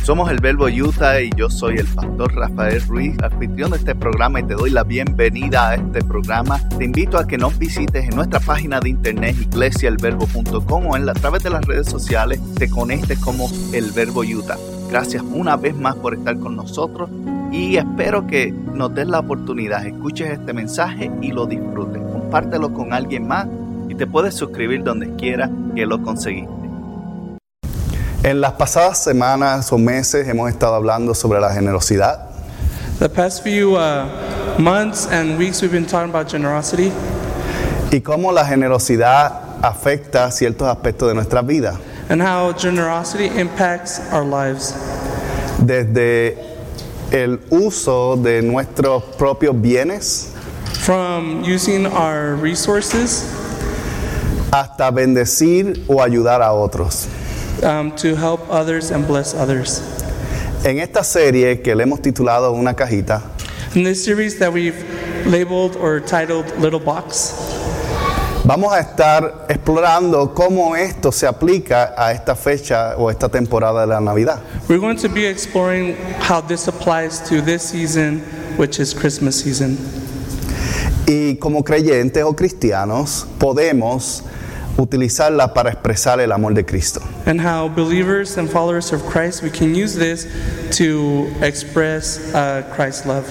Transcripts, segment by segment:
Somos el Verbo Utah y yo soy el pastor Rafael Ruiz, anfitrión de este programa, y te doy la bienvenida a este programa. Te invito a que nos visites en nuestra página de internet iglesiaelverbo.com o a través de las redes sociales te conectes como el Verbo Utah. Gracias una vez más por estar con nosotros y espero que nos des la oportunidad, escuches este mensaje y lo disfrutes. Compártelo con alguien más y te puedes suscribir donde quiera que lo conseguiste. En las pasadas semanas o meses hemos estado hablando sobre la generosidad. The past few months and weeks we've been talking about generosity. Y cómo la generosidad afecta ciertos aspectos de nuestra vida. And how generosity impacts our lives. Desde el uso de nuestros propios bienes. From using our resources. Hasta bendecir o ayudar a otros. To help others and bless others. En esta serie que le hemos titulado Una Cajita, In this series that we've labeled or titled Little Box, vamos a estar explorando cómo esto se aplica a esta fecha o esta temporada de la Navidad. we're going to be exploring how this applies to this season, which is Christmas season. Y como creyentes o cristianos podemos utilizarla para expresar el amor de Cristo. And how believers and followers of Christ, we can use this to express Christ's love.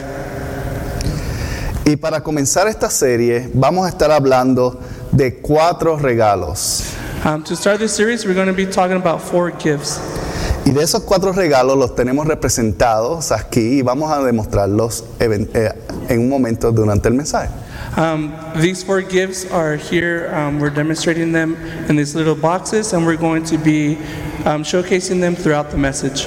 Y para comenzar esta serie vamos a estar hablando de 4 regalos. To start this series, we're going to be talking about 4 gifts. Y de esos 4 regalos los tenemos representados aquí y vamos a demostrarlos en un momento durante el mensaje. These 4 gifts are here. We're demonstrating them in these little boxes, and we're going to be showcasing them throughout the message.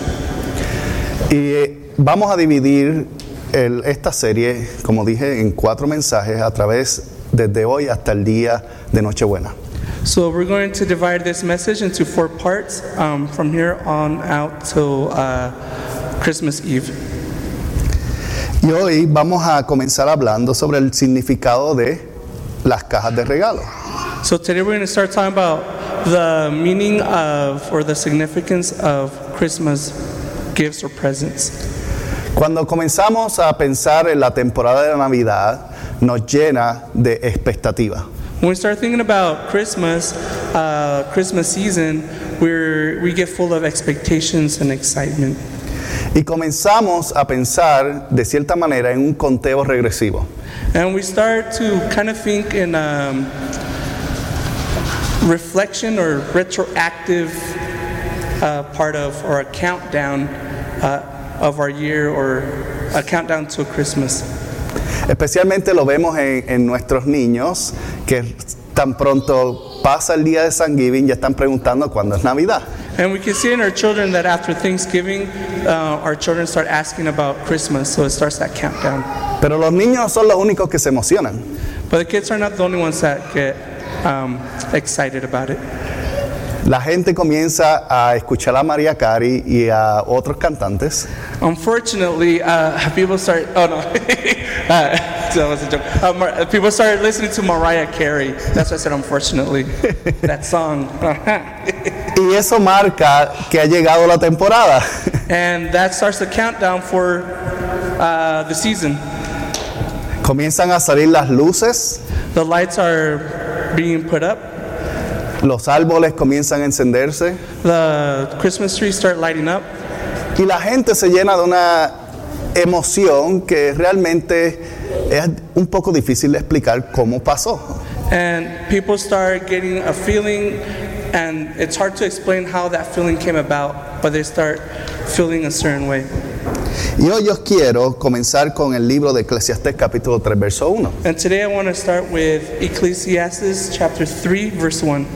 Y vamos a dividir esta serie, como dije, en 4 mensajes a través desde hoy hasta el día de Nochebuena. So we're going to divide this message into 4 parts from here on out till Christmas Eve. Y hoy vamos a comenzar hablando sobre el significado de las cajas de regalo. So today we're going to start talking about the meaning of or the significance of Christmas gifts or presents. Cuando comenzamos a pensar en la temporada de la Navidad, nos llena de expectativa. When we start thinking about Christmas season, we get full of expectations and excitement. Y comenzamos a pensar de cierta manera en un conteo regresivo. And we start to kind of think in reflection or retroactive part of, or a countdown of our year, or a countdown to Christmas. Especialmente lo vemos en nuestros niños, que tan pronto pasa el día de Thanksgiving ya están preguntando cuándo es Navidad. And we can see in our children that after Thanksgiving, our children start asking about Christmas, so it starts that countdown. Pero los niños no son los únicos que se emocionan. But the kids are not the only ones that get excited about it. La gente comienza a escuchar a Mariah Carey y a otros cantantes. Unfortunately, people start. Oh no, that was a joke. People started listening to Mariah Carey. That's why I said unfortunately. That song. Y eso marca que ha llegado la temporada. And that starts the countdown for the season. Comienzan a salir las luces, The lights are being put up. los árboles comienzan a encenderse The Christmas trees start lighting up. y la gente se llena de una emoción que realmente es un poco difícil de explicar cómo pasó. And people start getting a feeling, and it's hard to explain how that feeling came about, but they start feeling a certain way. Y hoy yo quiero comenzar con el libro de Eclesiastés capítulo 3 verso 1. And today I want to start with Ecclesiastes chapter 3 verse 1.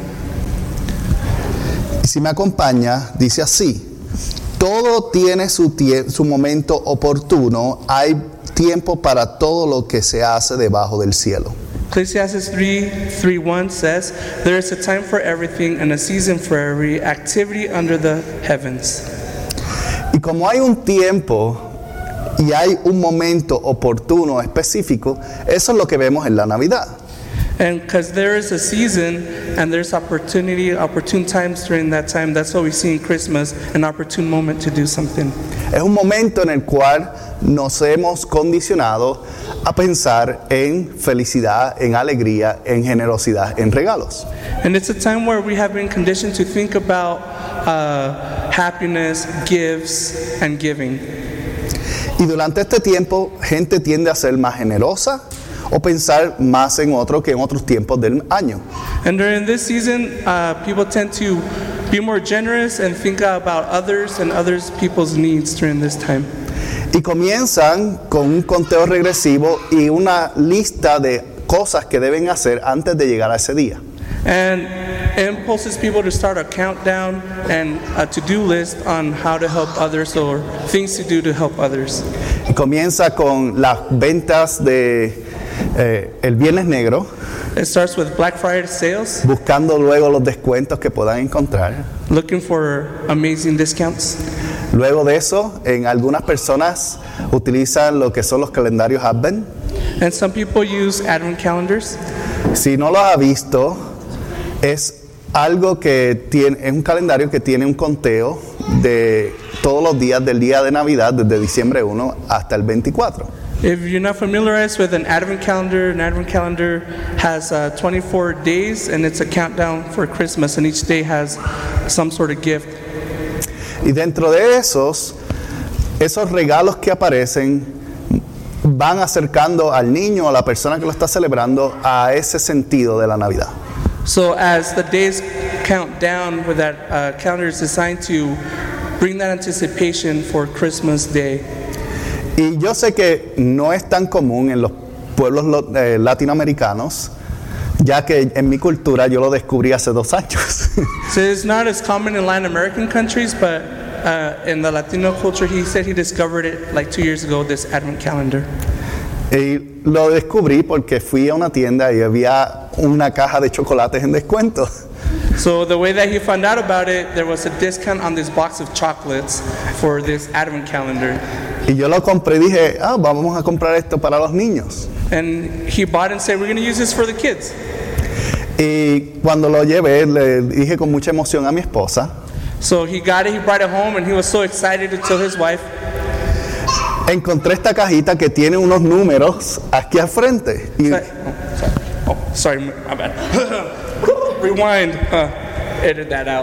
Y si me acompaña, dice así: todo tiene su momento oportuno, hay tiempo para todo lo que se hace debajo del cielo. Ecclesiastes 3:1 says, "There is a time for everything and a season for every activity under the heavens." Y como hay un tiempo y hay un momento oportuno específico, eso es lo que vemos en la Navidad. And because there is a season and there's opportune times during that time, that's what we see in Christmas, an opportune moment to do something. Es un momento en el cual nos hemos condicionado a pensar en felicidad, en alegría, en generosidad, en regalos. And it's a time where we have been conditioned to think about happiness, gifts, and giving. Y durante este tiempo, gente tiende a ser más generosa o pensar más en otro que en otros tiempos del año. And during this season, people tend to be more generous and think about others and others people's needs during this time. Y comienzan con un conteo regresivo y una lista de cosas que deben hacer antes de llegar a ese día. And it impulses people to start a countdown and a to-do list on how to help others or things to do to help others. Y comienza con las ventas de el Viernes Negro, It starts with Black Friday sales, buscando luego los descuentos que puedan encontrar. looking for amazing discounts. Luego de eso, en algunas personas utilizan lo que son los calendarios Advent. And some people use Advent calendars. Si no los ha visto, es algo que tiene, es un calendario que tiene un conteo de todos los días del día de Navidad, desde diciembre 1 hasta el 24. If you're not familiarized with an Advent calendar has 24 days and it's a countdown for Christmas, and each day has some sort of gift. Y dentro de esos regalos que aparecen van acercando al niño o a la persona que lo está celebrando a ese sentido de la Navidad. So as the days count down, with that calendar is designed to bring that anticipation for Christmas Day. Y yo sé que no es tan común en los pueblos latinoamericanos, ya que en mi cultura yo lo descubrí hace 2 años. So it's not as common in Latin American countries, but in the Latino culture, he said he discovered it like 2 years ago, this Advent calendar. Y lo descubrí porque fui a una tienda y había una caja de chocolates en descuento. So the way that he found out about it, there was a discount on this box of chocolates for this Advent calendar. Y yo lo compré y dije, vamos a comprar esto para los niños. And he bought and said, we're going to use this for the kids. Y cuando lo llevé, le dije con mucha emoción a mi esposa, So he got it, he brought it home, and he was so excited to tell his wife. encontré esta cajita que tiene unos números aquí al frente. Y, Sorry, my bad. Rewind. Edit that out.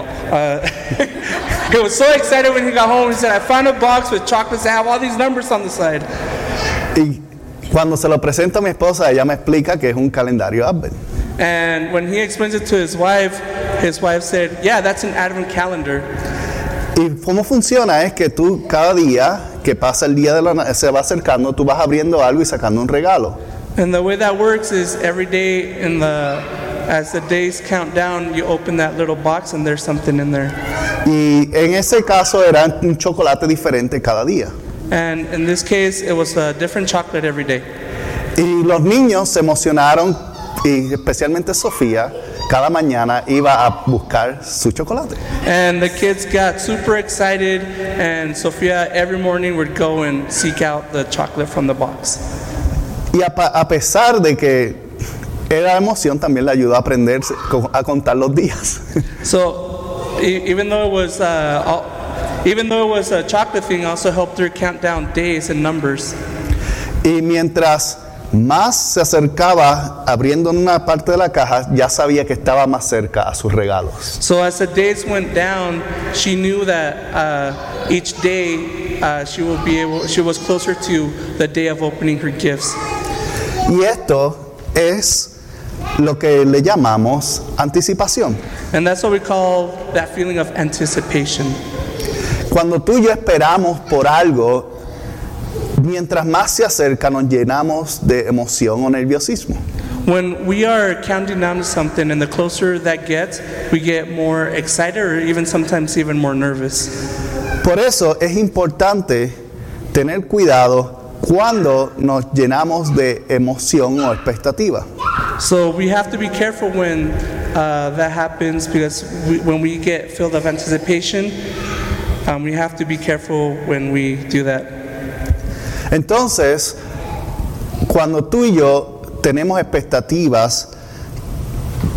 He was so excited when he got home. He said, I found a box with chocolates that have all these numbers on the side. y cuando se lo presento a mi esposa, ella me explica que es un calendario Advent. And when he explains it to his wife said, yeah, that's an Advent calendar. Y cómo funciona es que tú cada día que pasa el día de se va acercando, tú vas abriendo algo y sacando un regalo. And the way that works is every day as the days count down, you open that little box and there's something in there. Y en ese caso era un chocolate diferente cada día. And in this case, it was a different chocolate every day. Y los niños se emocionaron, y especialmente Sofía, cada mañana iba a buscar su chocolate. And the kids got super excited, and Sophia every morning would go and seek out the chocolate from the box. Y a pesar de que era emoción, también le ayudó a aprender a contar los días. So even though it was a chocolate thing, also helped her count down days and numbers. Y mientras más se acercaba abriendo una parte de la caja, ya sabía que estaba más cerca a sus regalos. So as the days went down, she knew that each day she was closer to the day of opening her gifts. Y esto es lo que le llamamos anticipación. And that's what we call that feeling of anticipation. Cuando tú y yo esperamos por algo, mientras más se acerca, nos llenamos de emoción o nerviosismo. When we are counting down to something, and the closer that gets, we get more excited or even sometimes even more nervous. Por eso es importante tener cuidado cuando nos llenamos de emoción o expectativa. So we have to be careful when that happens, because when we get filled of anticipation, we have to be careful when we do that. Entonces, cuando tú y yo tenemos expectativas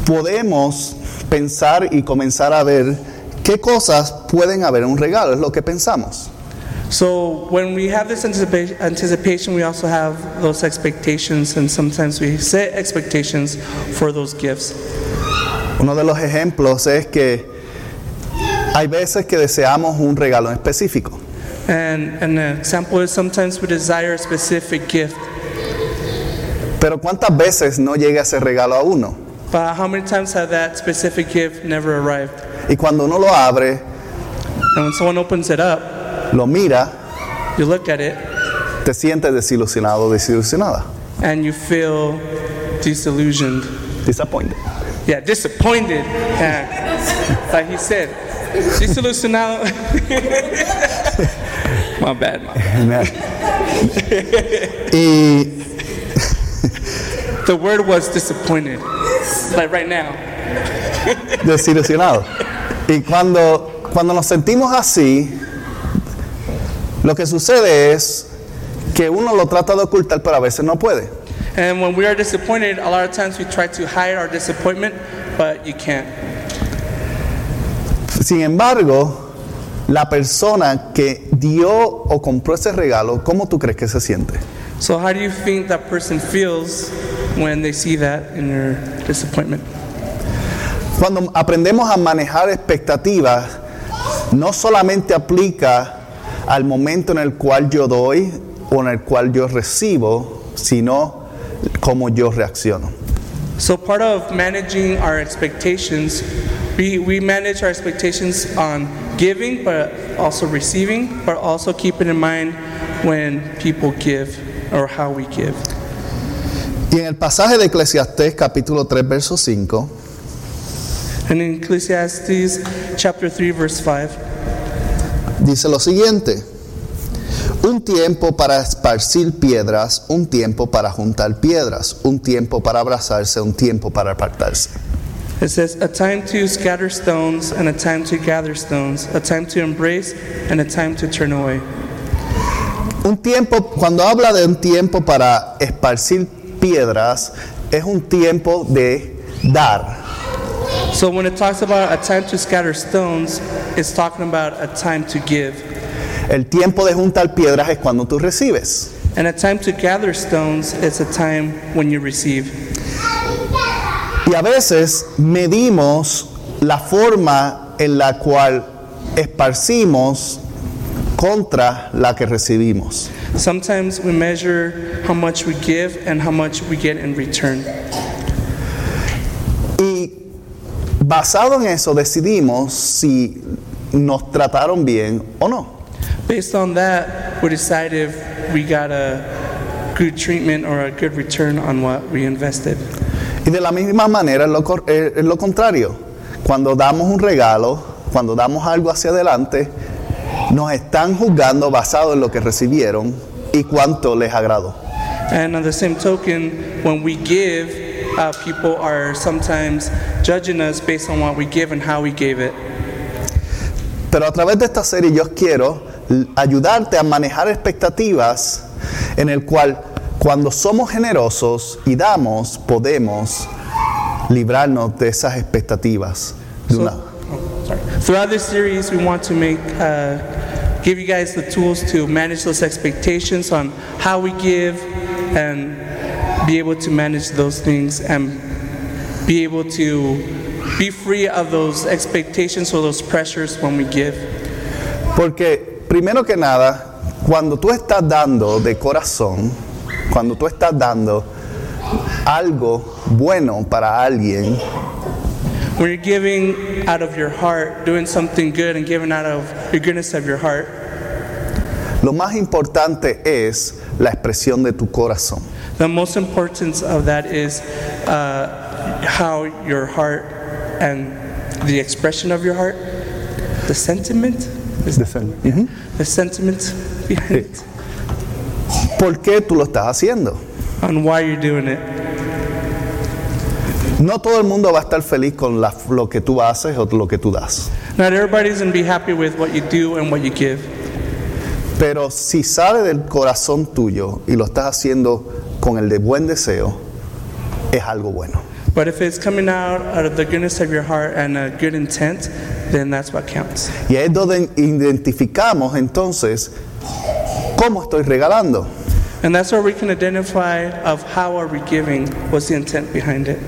podemos pensar y comenzar a ver qué cosas pueden haber en un regalo, es lo que pensamos. So when we have this anticipation, we also have those expectations, and sometimes we set expectations for those gifts. Uno de los ejemplos es que hay veces que deseamos un regalo en específico. And an example is sometimes we desire a specific gift. Pero ¿cuántas veces no llega ese regalo a uno? But how many times have that specific gift never arrived? Y cuando uno lo abre, And when someone opens it up, lo mira, you look at it, te sientes desilusionado o desilusionada. and you feel disillusioned. Disappointed. Yeah, disappointed. Yeah. Like he said, desilusionado. My bad. Y The word was disappointed. Like right now. desilusionado. Y cuando nos sentimos así, lo que sucede es que uno lo trata de ocultar, pero a veces no puede. And when we are disappointed, a lot of times we try to hide our disappointment, but you can't. Sin embargo, la persona que dio o compró ese regalo, ¿cómo tú crees que se siente? So how do you think that person feels when they see that in their disappointment? Cuando aprendemos a manejar expectativas, no solamente aplica al momento en el cual yo doy o en el cual yo recibo, sino cómo yo reacciono. So part of managing our expectations, we manage our expectations on giving, but also receiving, but also keeping in mind when people give or how we give. Y en el pasaje de Eclesiastés capítulo 3 verso 5, And in Ecclesiastes chapter 3 verse 5, dice lo siguiente: un tiempo para esparcir piedras, un tiempo para juntar piedras, un tiempo para abrazarse, un tiempo para apartarse. it says, a time to scatter stones and a time to gather stones, a time to embrace and a time to turn away. Un tiempo, cuando habla de un tiempo para esparcir piedras, es un tiempo de dar. So when it talks about a time to scatter stones, it's talking about a time to give. El tiempo de juntar piedras es cuando tú recibes. And a time to gather stones is a time when you receive. Y a veces medimos la forma en la cual esparcimos contra la que recibimos. Sometimes we measure how much we give and how much we get in return. Y basado en eso decidimos si nos trataron bien o no. Based on that, we decide if we got a good treatment or a good return on what we invested. Y de la misma manera es lo contrario. Cuando damos un regalo, cuando damos algo hacia adelante, nos están juzgando basado en lo que recibieron y cuánto les agradó. And on the same token, when we give, people are sometimes judging us based on what we give and how we gave it. Pero a través de esta serie yo quiero ayudarte a manejar expectativas en el cual cuando somos generosos y damos, podemos librarnos de esas expectativas. Throughout this series, we want to give you guys the tools to manage those expectations on how we give and be able to manage those things and be able to be free of those expectations or those pressures when we give. Porque primero que nada, cuando tú estás dando de corazón, cuando tú estás dando algo bueno para alguien, when you're giving out of your heart, doing something good and giving out of your goodness of your heart, lo más importante es la expresión de tu corazón. the most importance of that is how your heart and the expression of your heart, the sentiment, the sentiment behind it, ¿Por qué tú lo estás haciendo? on why you're doing it. No todo el mundo va a estar feliz con lo que tú haces o lo que tú das. Not everybody's going to be happy with what you do and what you give. Pero si sale del corazón tuyo y lo estás haciendo con el de buen deseo, es algo bueno. But if it's coming out of the goodness of your heart and a good intent, then that's what counts. Y es donde identificamos entonces cómo estoy regalando. And that's where we can identify of how are we giving, what's the intent behind it.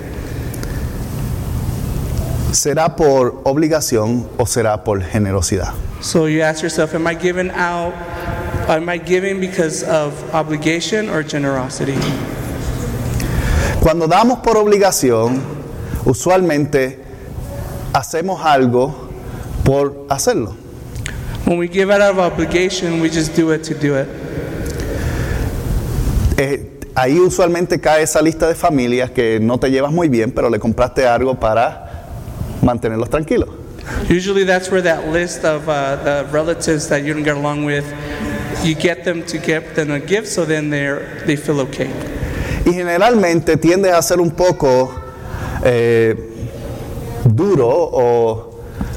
¿Será por obligación o será por generosidad? So you ask yourself, am I giving because of obligation or generosity? Cuando damos por obligación, usualmente hacemos algo por hacerlo. When we give out of obligation, we just do it to do it. Ahí usualmente cae esa lista de familias que no te llevas muy bien, pero le compraste algo para mantenerlos tranquilos. Usually that's where that list of the relatives that you don't get along with, you get them to give them a gift so then they feel okay. Y generalmente tiendes a ser un poco duro o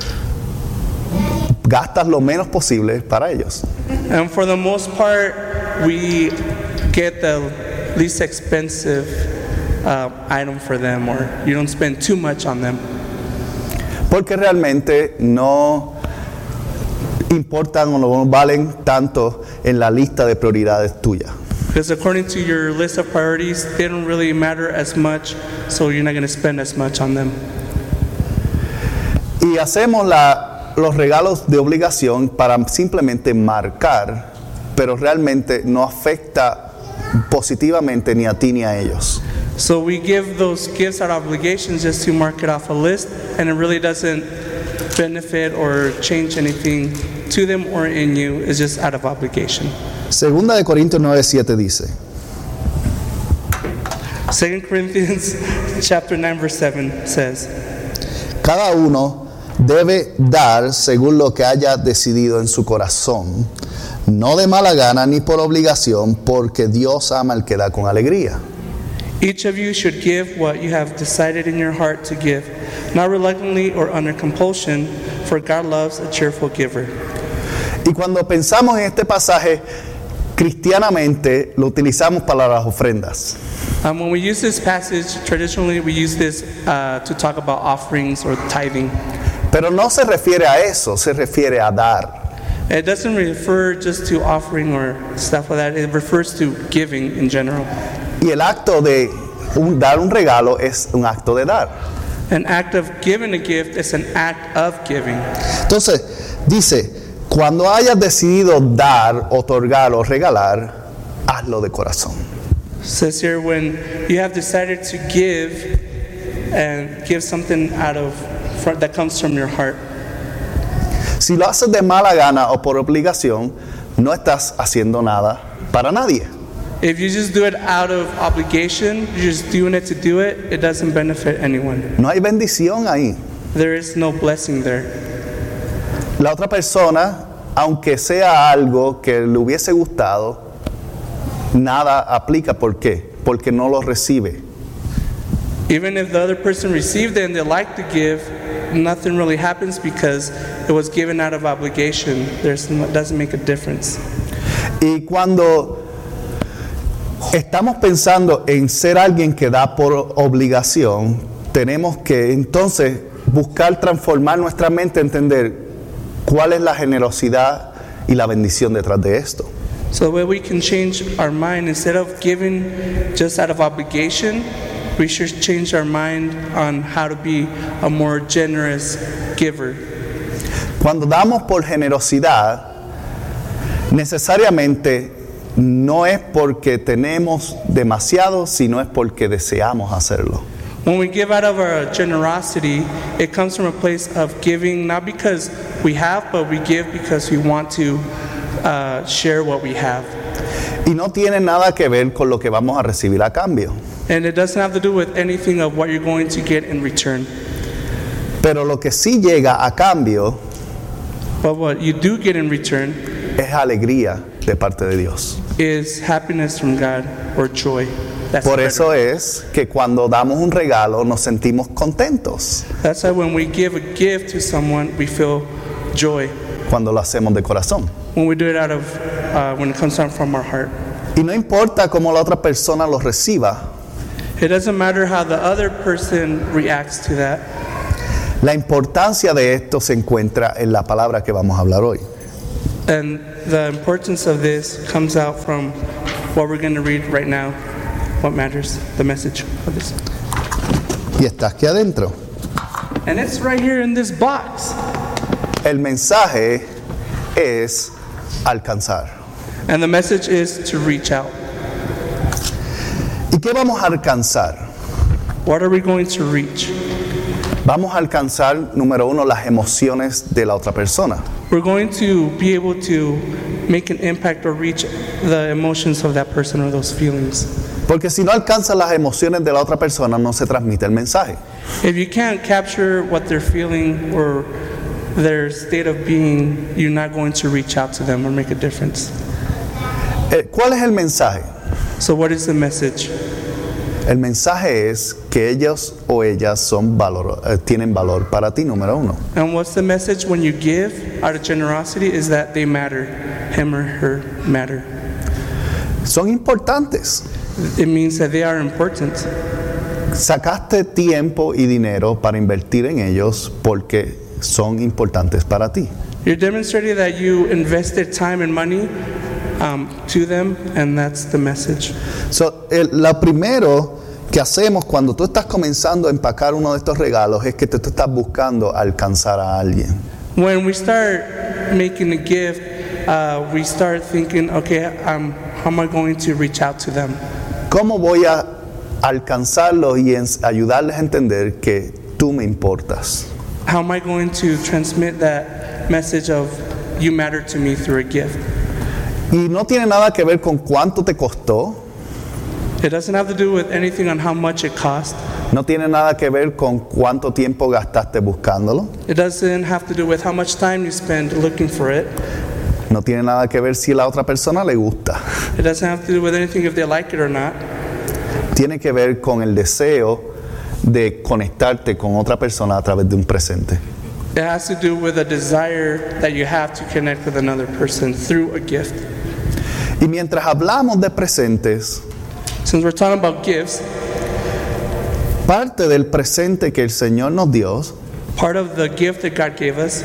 gastas lo menos posible para ellos. And for the most part, we get the least expensive item for them, or you don't spend too much on them. Porque realmente no importan o no valen tanto en la lista de prioridades tuyas. Because according to your list of priorities, they don't really matter as much, so you're not going to spend as much on them. Y hacemos los regalos de obligación para simplemente marcar, pero realmente no afecta positivamente ni a ti ni a ellos. So we give those gifts out of obligations just to mark it off a list, and it really doesn't benefit or change anything to them or in you. It's just out of obligation. Segunda de Corintios 9:7 dice: 2 Corinthians chapter 9 verse 7 says, cada uno debe dar según lo que haya decidido en su corazón, no de mala gana ni por obligación, porque Dios ama al que da con alegría. each of you should give what you have decided in your heart to give, not reluctantly or under compulsion, for God loves a cheerful giver. Y cuando pensamos en este pasaje, cristianamente lo utilizamos para las ofrendas. When we use this passage, traditionally we use this to talk about offerings or tithing. Pero no se refiere a eso, se refiere a dar. It doesn't refer just to offering or stuff like that. It refers to giving in general. Y el acto de dar un regalo es un acto de dar. An act of giving a gift is an act of giving. Entonces, dice, cuando hayas decidido dar, otorgar o regalar, hazlo de corazón. It says here, when you have decided to give and give something out of that comes from your heart. Si lo haces de mala gana o por obligación, no estás haciendo nada para nadie. If you just do it out of obligation, you're just doing it to do it, it doesn't benefit anyone. No hay bendición ahí. There is no blessing there. La otra persona, aunque sea algo que le hubiese gustado, nada aplica. ¿Por qué? Porque no lo recibe. Even if the other person received it and they like to give, nothing really happens because it was given out of obligation. It doesn't make a difference. Y cuando estamos pensando en ser alguien que da por obligación, tenemos que entonces buscar transformar nuestra mente, entender cuál es la generosidad y la bendición detrás de esto. So the way we can change our mind, instead of giving just out of obligation, we should change our mind on how to be a more generous giver. Cuando damos por generosidad, necesariamente no es porque tenemos demasiado, sino es porque deseamos hacerlo. When we give out of our generosity, it comes from a place of giving not because we have, but we give because we want to share what we have. Y no tiene nada que ver con lo que vamos a recibir a cambio. And it doesn't have to do with anything of what you're going to get in return. Pero lo que sí llega a cambio But what you do get in return es alegría de parte de Dios. is happiness from God or joy. That's Por better. eso es que cuando damos un regalo nos sentimos contentos That's why when we give a gift to someone, we feel joy. cuando lo hacemos de corazón. When we do it out of, when it comes out from our heart. Y no importa cómo la otra persona lo reciba, It doesn't matter how the other person reacts to that. La importancia de esto se encuentra en la palabra que vamos a hablar hoy. And the importance of this comes out from what we're going to read right now. What matters, the message of this. Y está aquí adentro. And it's right here in this box. El mensaje es alcanzar. And the message is to reach out. ¿Y qué vamos a alcanzar? What are we going to reach? Vamos a alcanzar, número uno, las emociones de la otra persona. We're going to be able to make an impact or reach the emotions of that person or those feelings. Porque si no alcanzas las emociones de la otra persona, no se transmite el mensaje. If you can't capture what they're feeling or their state of being, you're not going to reach out to them or make a difference. ¿Cuál es el mensaje? So what is the message? El mensaje es que ellos o ellas tienen valor para ti, número uno. And what's the message when you give out of generosity is that they matter. Him or her matter. Son importantes. It means that they are important. Sacaste tiempo y dinero para invertir en ellos porque son importantes para ti. You're demonstrating that you invested time and money to them, and that's the message. So, lo primero que hacemos cuando tú estás comenzando a empacar uno de estos regalos es que tú estás buscando alcanzar a alguien. When we start making a gift, we start thinking, okay, how am I going to reach out to them? ¿Cómo voy a alcanzarlos y ayudarles a entender que tú me importas? How am I going to transmit that message of you matter to me through a gift? Y no tiene nada que ver con cuánto te costó. It doesn't have to do with anything on how much it cost. No tiene nada que ver con cuánto tiempo gastaste buscándolo. It doesn't have to do with how much time you spend looking for it. No tiene nada que ver si a la otra persona le gusta. It doesn't have to do with anything if they like it or not. Tiene que ver con el deseo de conectarte con otra persona a través de un presente. It has to do with a desire that you have to connect with another person through a gift. Y mientras hablamos de presentes, Since we're talking about gifts, parte del presente que el Señor nos dio part of the gift that God gave us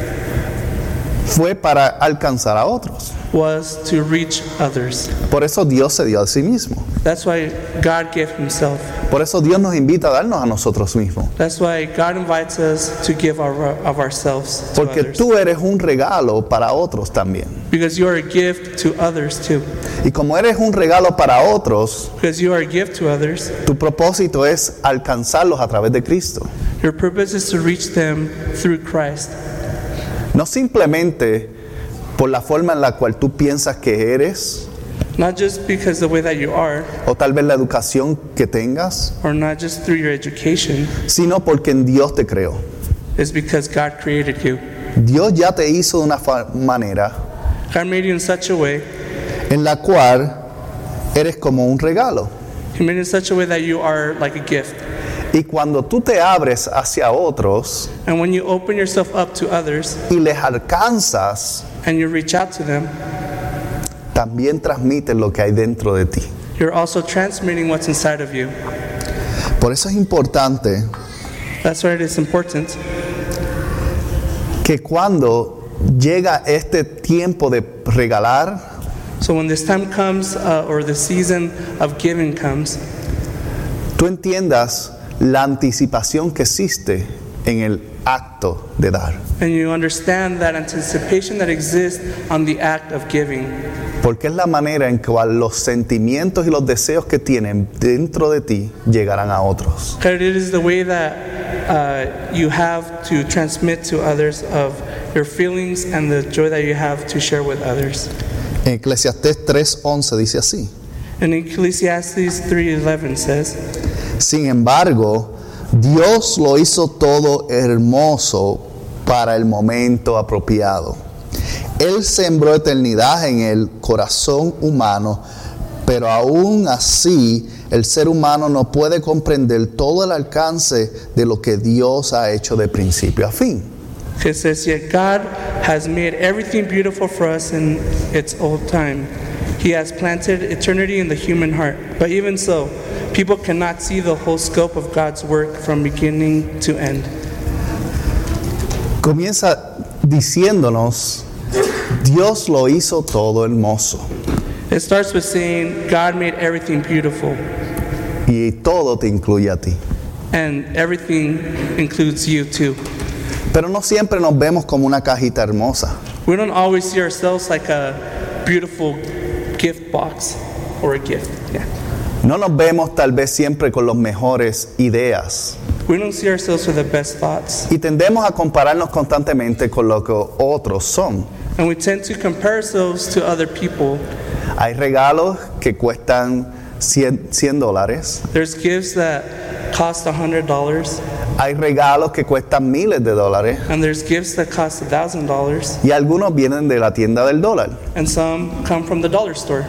fue para alcanzar a otros. was to reach others. Por eso Dios se dio a sí mismo. That's why God gave himself. Por eso Dios nos invita a darnos a nosotros mismos. That's why God invites us to give of ourselves to Porque others. tú eres un regalo para otros también. Because you are a gift to others too. Y como eres un regalo para otros, Because you are a gift to others, tu propósito es alcanzarlos a través de Cristo. your purpose is to reach them through Christ. No simplemente por la forma en la cual tú piensas que eres, Not just because the way that you are, o tal vez la educación que tengas, or not just through your education, sino porque en Dios te creó. it's because God created you. Dios ya te hizo de una manera God made you in such a way, en la cual eres como un regalo. He made you in such a way that you are like a gift. Y cuando tú te abres hacia otros And when you open yourself up to others y les alcanzas, and you reach out to them, también transmites lo que hay dentro de ti. you're also transmitting what's inside of you. Por eso es importante That's why it is important que cuando llega este tiempo de regalar, so when this time comes or the season of giving comes, tú entiendas la anticipación que existe en el acto de dar. and you understand that anticipation that exists on the act of giving. Porque es la manera en que los sentimientos y los deseos que tienen dentro de ti llegarán a otros. Because it is the way that you have to transmit to others of your feelings and the joy that you have to share with others. En Eclesiastés 3:11 dice así: And Ecclesiastes 3:11 says, sin embargo, Dios lo hizo todo hermoso para el momento apropiado. Él sembró eternidad en el corazón humano, pero aún así el ser humano no puede comprender todo el alcance de lo que Dios ha hecho de principio a fin. it says, yet God has made everything beautiful for us in its old time. He has planted eternity in the human heart. But even so, People cannot see the whole scope of God's work from beginning to end. Comienza diciéndonos, Dios lo hizo todo hermoso. It starts with saying, God made everything beautiful, Y todo te incluye a ti. and everything includes you too. Pero no siempre nos vemos como una cajita hermosa. We don't always see ourselves like a beautiful gift box or a gift. Yeah. No nos vemos tal vez siempre con las mejores ideas. We don't see ourselves with the best thoughts. Y tendemos a compararnos constantemente con lo que otros son. And we tend to compare ourselves to other people. Hay regalos que cuestan $100. There's gifts that cost $100, Hay regalos que cuestan miles de dólares. and there's gifts that cost $1,000, Y algunos vienen de la tienda del dólar. and some come from the dollar store.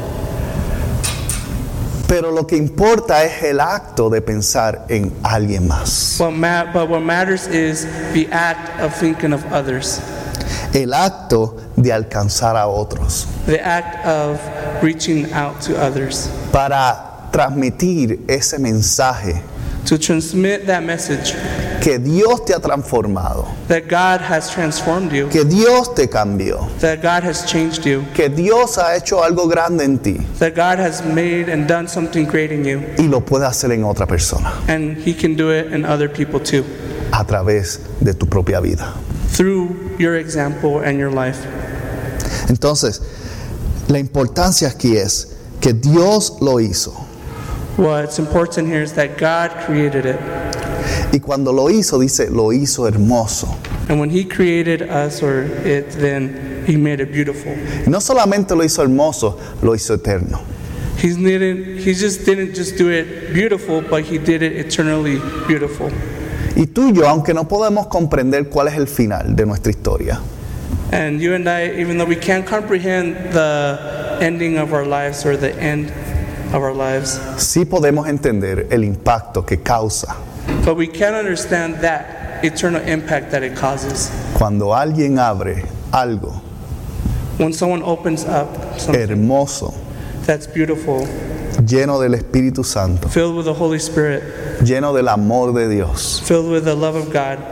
Pero lo que importa es el acto de pensar en alguien más. But what matters is the act of thinking of others, El acto de alcanzar a otros. the act of reaching out to others, Para transmitir ese mensaje to transmit that message que Dios te ha transformado, that God has transformed you, que Dios te cambió, that God has changed you, que Dios ha hecho algo grande en ti that God has made and done something great in you, y lo puede hacer en otra persona and He can do it in other people too, a través de tu propia vida. through your example and your life. Entonces, la importancia aquí es que Dios lo hizo. What's important here is that God created it. Y cuando lo hizo, dice, lo hizo hermoso. And when He created us or it, then He made it beautiful. No solamente lo hizo hermoso, lo hizo eterno. He didn't just do it beautiful, but He did it eternally beautiful. Y tú y yo, aunque no podemos comprender cuál es el final de nuestra historia, And you and I, even though we can't comprehend the ending of our lives or the end of our lives, sí podemos entender el impacto que causa but we can understand that eternal impact that it causes. cuando alguien abre algo When someone opens up something hermoso, that's beautiful, lleno del Espíritu Santo, filled with the Holy Spirit, lleno del amor de Dios, filled with the love of God,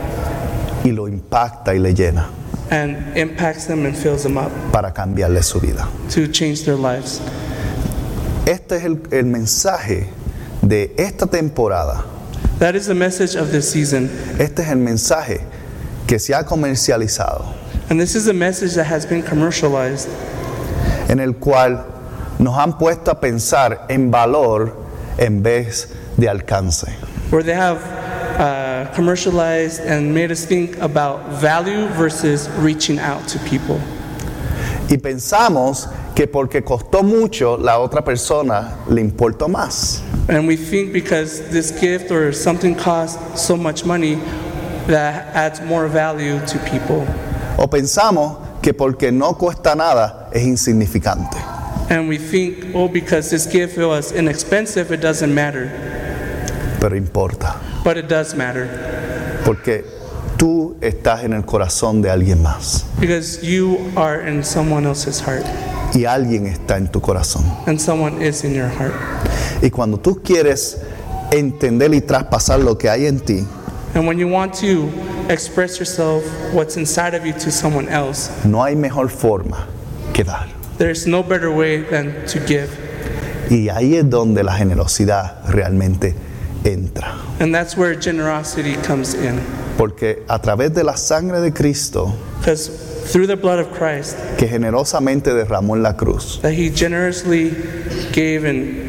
y lo impacta y le llena and impacts them and fills them up para cambiarle su vida. to change their lives. Este es el mensaje de esta temporada. That is the message of this season. Este es el mensaje que se ha comercializado, And this is a message that has been commercialized, en el cual nos han puesto a pensar en valor en vez de alcance. where they have commercialized and made us think about value versus reaching out to people. Y pensamos que porque costó mucho, la otra persona le importó más. And we think because this gift or something costs so much money, that adds more value to people. O pensamos que porque no cuesta nada, es insignificante. And we think, oh, because this gift was inexpensive, it doesn't matter. Pero importa, But it does matter. porque tú estás en el corazón de alguien más. Because you are in someone else's heart. Y alguien está en tu corazón. And someone is in your heart. Y cuando tú quieres entender y traspasar lo que hay en ti, And when you want to express yourself, what's inside of you to someone else, no hay mejor forma que dar. there's no better way than to give. Y ahí es donde la generosidad realmente entra. And that's where generosity comes in. Porque a través de la sangre de Cristo, Because through the blood of Christ, que generosamente derramó en la cruz, that He generously gave and,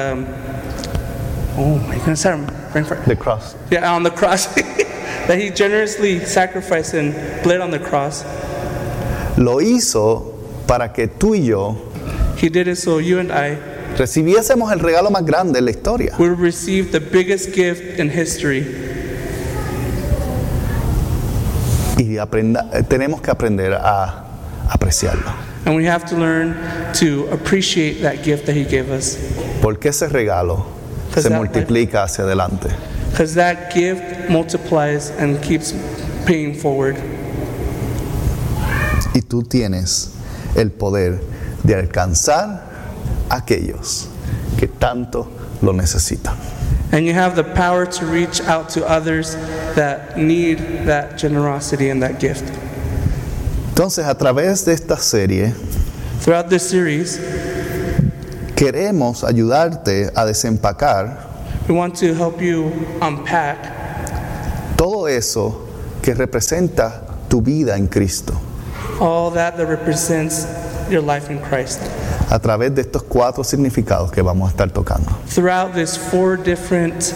oh my goodness, I'm praying for, the cross, yeah, on the cross, that He generously sacrificed and bled on the cross. lo hizo para que tú y yo He did it so you and I recibiésemos el regalo más grande en la historia. would receive the biggest gift in history. Y tenemos que aprender a apreciarlo. And we have to learn to appreciate that gift that He gave us. Porque ese regalo se multiplica hacia adelante. Because that gift multiplies and keeps paying forward. Y tú tienes el poder de alcanzar a aquellos que tanto lo necesitan. And you have the power to reach out to others that need that generosity and that gift. Entonces, a través de esta serie, Throughout this series, queremos ayudarte a desempacar we want to help you unpack todo eso que representa tu vida en Cristo, all that represents your life in Christ. a través de estos 4 significados que vamos a estar tocando. Throughout these 4 different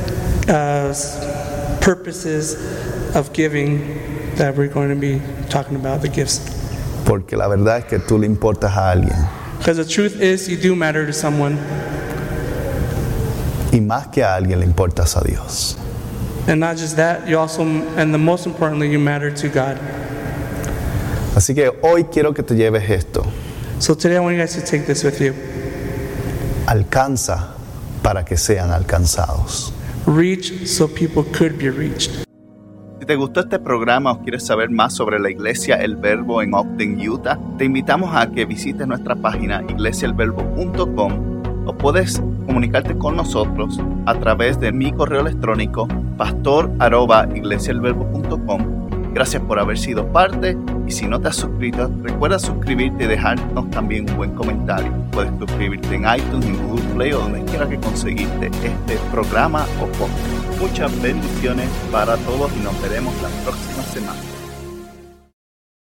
purposes of giving that we're going to be talking about, the gifts. Porque la verdad es que tú le importas a alguien. Because the truth is, you do matter to someone. Y más que a alguien le importas a Dios. And not just that, you also, and the most importantly, you matter to God. Así que hoy quiero que te lleves esto. So today I want you guys to take this with you. Alcanza para que sean alcanzados. Reach so people could be reached. Si te gustó este programa o quieres saber más sobre la Iglesia El Verbo en Ogden, Utah, te invitamos a que visites nuestra página iglesiaelverbo.com o puedes comunicarte con nosotros a través de mi correo electrónico pastor@iglesiaelverbo.com. Gracias por haber sido parte y si no te has suscrito, recuerda suscribirte y dejarnos también un buen comentario. Puedes suscribirte en iTunes, en Google Play o donde quiera que conseguiste este programa o podcast. Muchas bendiciones para todos y nos veremos la próxima semana.